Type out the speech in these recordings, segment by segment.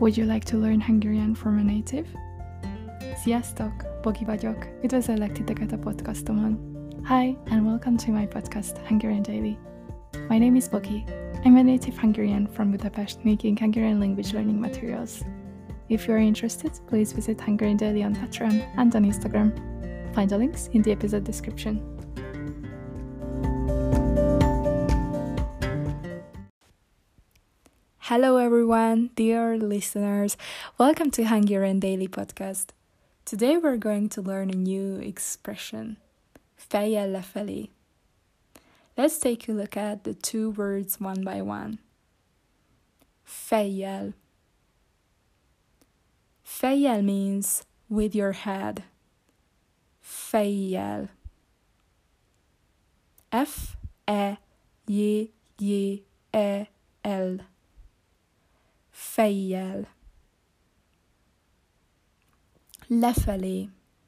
Would you like to learn Hungarian from a native? Sziasztok! Bogi vagyok. Üdvözöllek titeket a podcastomon. Hi, and welcome to my podcast, Hungarian Daily. My name is Bogi. I'm a native Hungarian from Budapest making Hungarian language learning materials. If you are interested, please visit Hungarian Daily on Patreon and on Instagram. Find the links in the episode description. Hello everyone, dear listeners. Welcome to Hungarian Daily Podcast. Today we're going to learn a new expression, fejjel lefelé. Let's take a look at the two words one by one. Fejjel. Fejjel means with your head. Fejjel. F-E-J-J-E-L. Fejjel. Lefelé.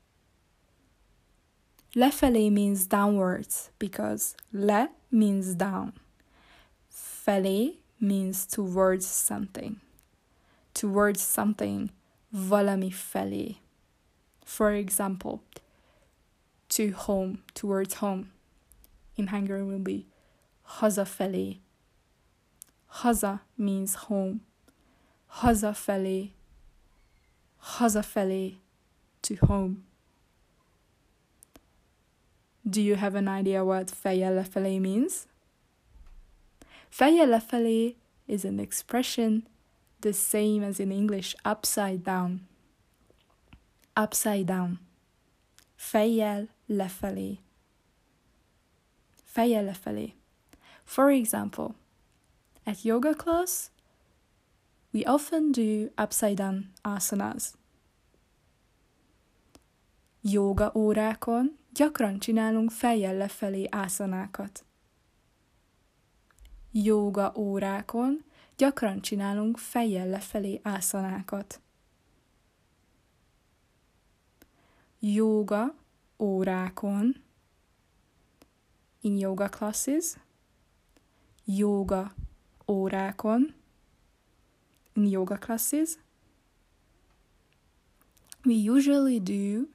Lefelé means downwards because le means down. Felé means towards something. Towards something, valami felé. For example, to home, towards home. In Hungarian will be hazafelé. Haza means home. Hazafelé. Hazafelé, to home. Do you have an idea what fejjel lefelé means? Fejjel lefelé is an expression the same as in English upside down. Upside down. Fejjel lefelé. Fejjel lefelé. For example, at yoga class, we often do upside down asanas. Jóga órákon gyakran csinálunk fejjel lefelé ásanákat. Jóga órákon gyakran csinálunk fejjel lefelé ásanákat. Jóga órákon, in yoga classes, jóga órákon, in yoga classes, we usually do,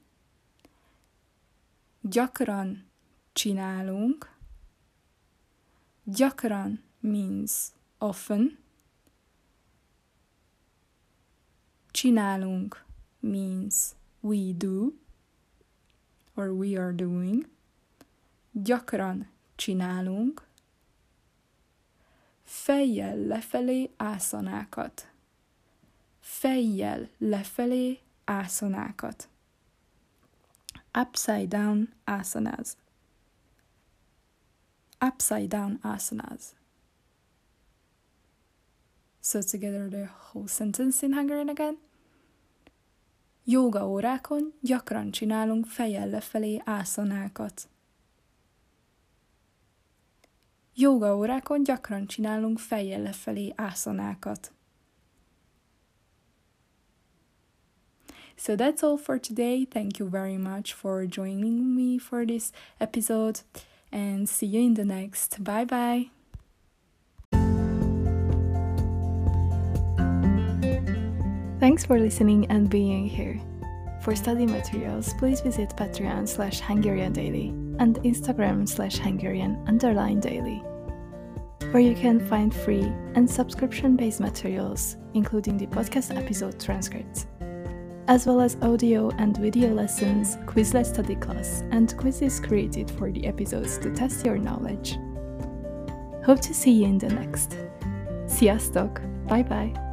gyakran csinálunk. Gyakran means often. Csinálunk means we do or we are doing. Gyakran csinálunk fejjel lefelé ásanákat. Fejjel lefelé ásanákat. Upside down asanas. Upside down asanas. So together the whole sentence in Hungarian again. Jóga órákon gyakran csinálunk fejjel lefelé ásanákat. Jóga órákon gyakran csinálunk fejjel lefelé ásanákat. So that's all for today. Thank you very much for joining me for this episode and see you in the next. Bye bye. Thanks for listening and being here. For study materials, please visit Patreon/Hungarian Daily and Instagram/Hungarian_Daily, where you can find free and subscription-based materials, including the podcast episode transcripts, as well as audio and video lessons, Quizlet study class, and quizzes created for the episodes to test your knowledge. Hope to see you in the next. Sziasztok! Bye bye!